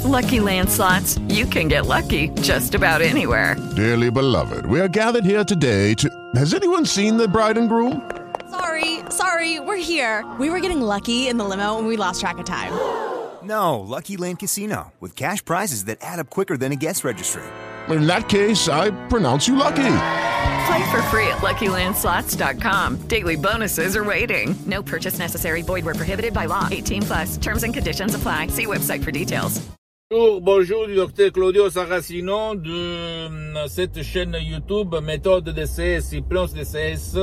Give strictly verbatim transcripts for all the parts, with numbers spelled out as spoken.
Lucky Land Slots, you can get lucky just about anywhere. Dearly beloved, we are gathered here today to... Has anyone seen the bride and groom? Sorry, sorry, we're here. We were getting lucky in the limo and we lost track of time. No, Lucky Land Casino, with cash prizes that add up quicker than a guest registry. In that case, I pronounce you lucky. Play for free at Lucky Land Slots dot com. Daily bonuses are waiting. No purchase necessary. Void where prohibited by law. eighteen plus. Terms and conditions apply. See website for details. Bonjour, bonjour du docteur Claudio Saracino de cette chaîne YouTube Méthode D C S, Hypnose D C S,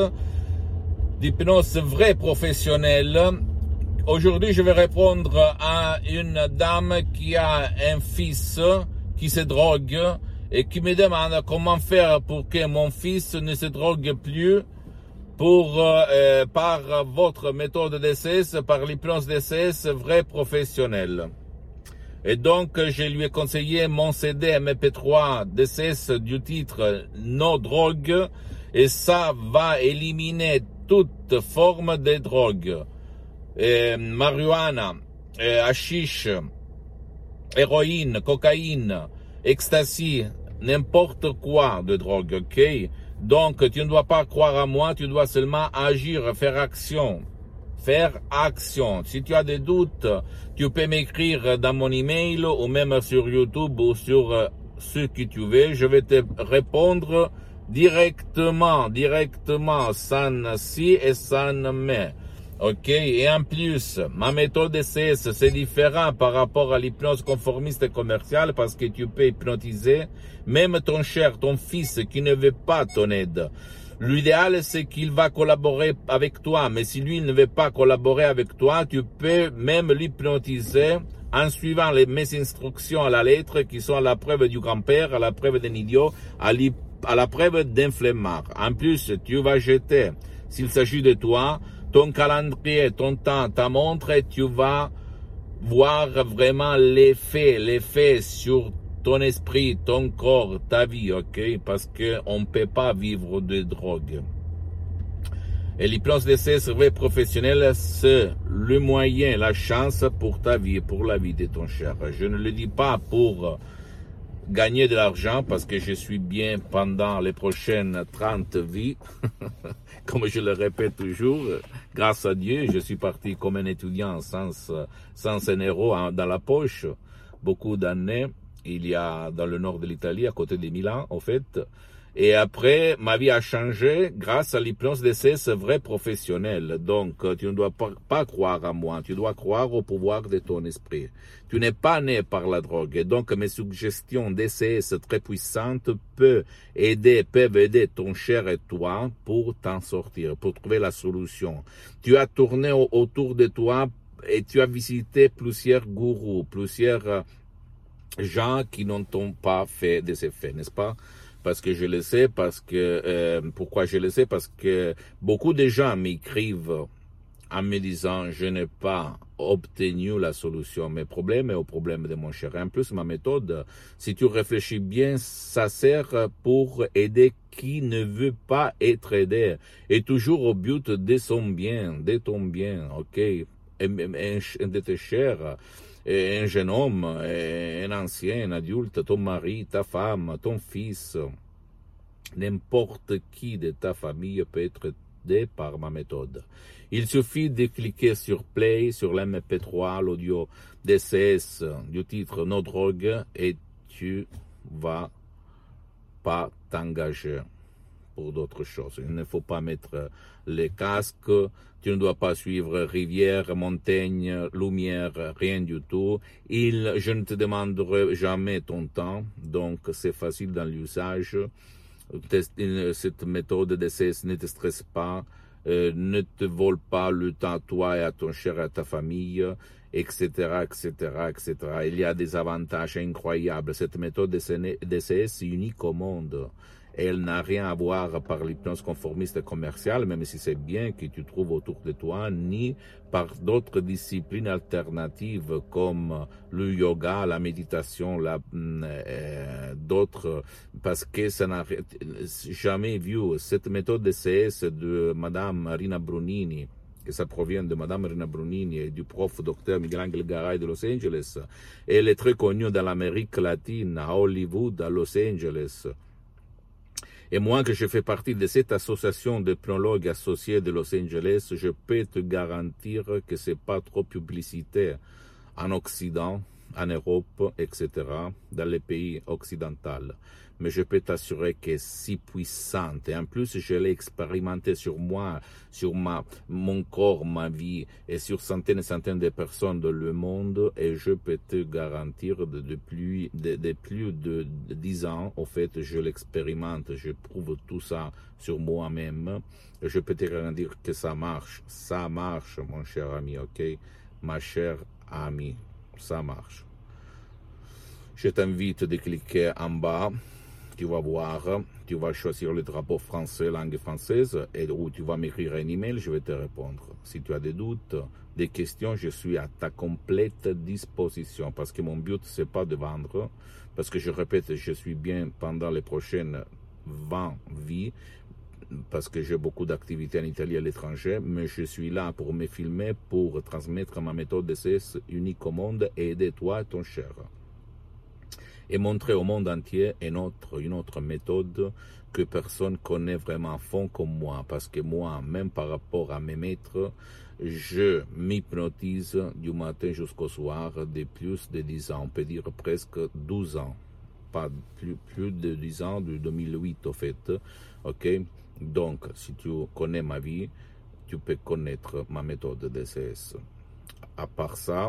d'hypnose vraie professionnelle. Aujourd'hui, je vais répondre à une dame qui a un fils qui se drogue et qui me demande comment faire pour que mon fils ne se drogue plus pour, euh, par votre méthode D C S, par l'hypnose D C S vraie professionnelle. Et donc, je lui ai conseillé mon C D M P trois D C S du titre No Drogue, et ça va éliminer toute forme de drogue. Et marijuana, et hashish, héroïne, cocaïne, ecstasy, n'importe quoi de drogue, ok? Donc, tu ne dois pas croire à moi, tu dois seulement agir, faire action. Faire action. Si tu as des doutes, tu peux m'écrire dans mon email ou même sur YouTube ou sur ce que tu veux. Je vais te répondre directement, directement, sans si et sans mais. Ok? Et en plus, ma méthode D C S, c'est différent par rapport à l'hypnose conformiste et commerciale parce que tu peux hypnotiser même ton cher, ton fils qui ne veut pas ton aide. L'idéal, c'est qu'il va collaborer avec toi, mais si lui ne veut pas collaborer avec toi, tu peux même l'hypnotiser en suivant les, mes instructions à la lettre qui sont à la preuve du grand-père, à la preuve d'un idiot, à, à la preuve d'un flemmard. En plus, tu vas jeter, s'il s'agit de toi, ton calendrier, ton temps, ta montre, et tu vas voir vraiment l'effet, l'effet sur ton esprit, ton corps, ta vie, ok? Parce que on ne peut pas vivre de drogue. Et l'hypnose D C S vraie professionnelle, c'est le moyen, la chance pour ta vie, pour la vie de ton cher. Je ne le dis pas pour gagner de l'argent, parce que je suis bien pendant les prochaines trente vies. Comme je le répète toujours, grâce à Dieu, je suis parti comme un étudiant sans, sans un euro dans la poche, beaucoup d'années. Il y a dans le nord de l'Italie, à côté de Milan, en fait. Et après, ma vie a changé grâce à l'hypnose D C S vrai professionnel. Donc, tu ne dois pas, pas croire à moi, tu dois croire au pouvoir de ton esprit. Tu n'es pas né par la drogue. Et donc, mes suggestions D C S très puissantes peuvent aider, peuvent aider ton cher et toi pour t'en sortir, pour trouver la solution. Tu as tourné autour de toi et tu as visité plusieurs gourous, plusieurs gens qui n'ont pas fait des effets, n'est-ce pas? Parce que je le sais, parce que euh, pourquoi je le sais? Parce que beaucoup de gens m'écrivent en me disant je n'ai pas obtenu la solution à mes problèmes et aux problèmes de mon cher. Et en plus, ma méthode, si tu réfléchis bien, ça sert pour aider qui ne veut pas être aidé, et toujours au but de son bien, de ton bien, ok? Et, et, et de tes chers. Un jeune homme, un ancien, un adulte, ton mari, ta femme, ton fils, n'importe qui de ta famille peut être aidé par ma méthode. Il suffit de cliquer sur Play, sur l'M P trois, l'audio D C S du titre No Drogue, et tu vas pas t'engager pour d'autres choses. Il ne faut pas mettre les casques, tu ne dois pas suivre rivière, montagne, lumière, rien du tout. Il, je ne te demanderai jamais ton temps, donc c'est facile dans l'usage. Cette méthode D C S ne te stresse pas, euh, ne te vole pas le temps à toi et à ton cher et à ta famille, et cetera, et cetera, et cetera. Il y a des avantages incroyables. Cette méthode D C S est unique au monde. Elle n'a rien à voir par l'hypnose conformiste commerciale, même si c'est bien que tu trouves autour de toi, ni par d'autres disciplines alternatives comme le yoga, la méditation, la, euh, d'autres, parce que ça n'a jamais vu cette méthode D C S de Madame Marina Brunini, que ça provient de Madame Rina Brunini et du prof docteur Miguel-Angel Garay de Los Angeles. Et elle est très connue dans l'Amérique latine, à Hollywood, à Los Angeles. Et moi, que je fais partie de cette association de pneumologues associés de Los Angeles, je peux te garantir que c'est pas trop publicitaire en Occident, en Europe, et cetera, dans les pays occidentaux. Mais je peux t'assurer que c'est si puissante. Et en plus, je l'ai expérimenté sur moi, sur ma, mon corps, ma vie, et sur centaines et centaines de personnes dans le monde. Et je peux te garantir de, de, plus, de, de plus de dix ans, au fait, je l'expérimente, je prouve tout ça sur moi-même. Et je peux te garantir que ça marche. Ça marche, mon cher ami, ok? Ma chère amie, ça marche. Je t'invite de cliquer en bas. Tu vas voir, tu vas choisir le drapeau français, langue française, et où tu vas m'écrire un email, je vais te répondre. Si tu as des doutes, des questions, je suis à ta complète disposition, parce que mon but, c'est pas de vendre, parce que je répète, je suis bien pendant les prochaines vingt vies, parce que j'ai beaucoup d'activités en Italie et à l'étranger, mais je suis là pour me filmer, pour transmettre ma méthode D C S unique au monde et aider toi et ton cher. Et montrer au monde entier une autre, une autre méthode que personne connaît vraiment à fond comme moi. Parce que moi, même par rapport à mes maîtres, je m'hypnotise du matin jusqu'au soir de plus de dix ans. On peut dire presque douze ans. Pas plus, plus de dix ans, de deux mille huit au fait. Ok? Donc, si tu connais ma vie, tu peux connaître ma méthode D C S. À part ça,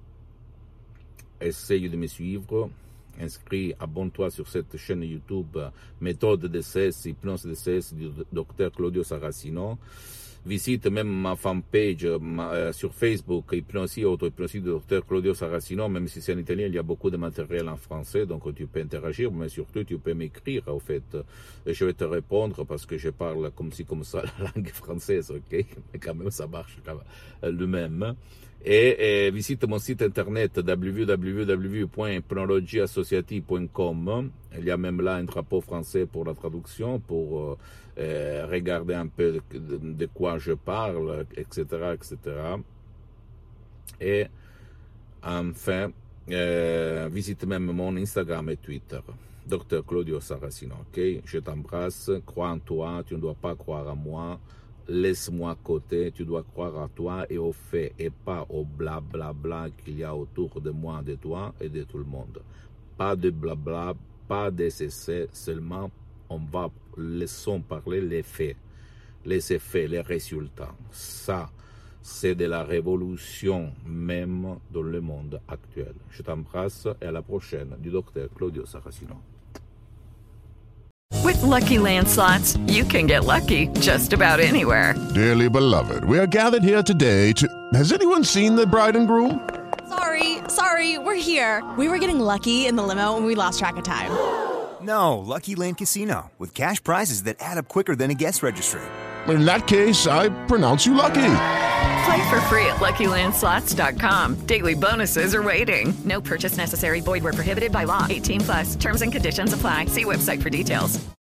essaye de me suivre. Inscris, abonne-toi sur cette chaîne YouTube Méthode D C S, Hypnose D C S du docteur Claudio Saracino. Visite même ma fanpage ma, euh, sur Facebook, Hypnosie, auto-hypnosie du docteur Claudio Saracino. Même si c'est en italien, il y a beaucoup de matériel en français, donc tu peux interagir, mais surtout tu peux m'écrire, au fait. Et je vais te répondre parce que je parle comme ci, comme ça, la langue française, ok? Mais quand même, ça marche le même. Et, et visite mon site internet w w w point hypnologie associative point com. Il y a même là un drapeau français pour la traduction, pour euh, regarder un peu de, de quoi je parle, et cetera, et cetera. Et enfin, euh, visite même mon Instagram et Twitter, docteur Claudio Saracino. Ok, je t'embrasse, crois en toi, tu ne dois pas croire en moi. Laisse-moi à côté, tu dois croire à toi et aux faits et pas au blablabla bla, bla qu'il y a autour de moi, de toi et de tout le monde. Pas de blabla, pas d'essais, seulement on va laissons parler les faits, les effets, les résultats. Ça, c'est de la révolution même dans le monde actuel. Je t'embrasse et à la prochaine du docteur Claudio Saracino. With Lucky Land Slots, you can get lucky just about anywhere. Dearly beloved, we are gathered here today to... Has anyone seen the bride and groom? Sorry, sorry, we're here. We were getting lucky in the limo and we lost track of time. No, Lucky Land Casino, with cash prizes that add up quicker than a guest registry. In that case, I pronounce you lucky. Play for free at lucky land slots dot com. Daily bonuses are waiting. No purchase necessary. Void where prohibited by law. eighteen plus. Terms and conditions apply. See website for details.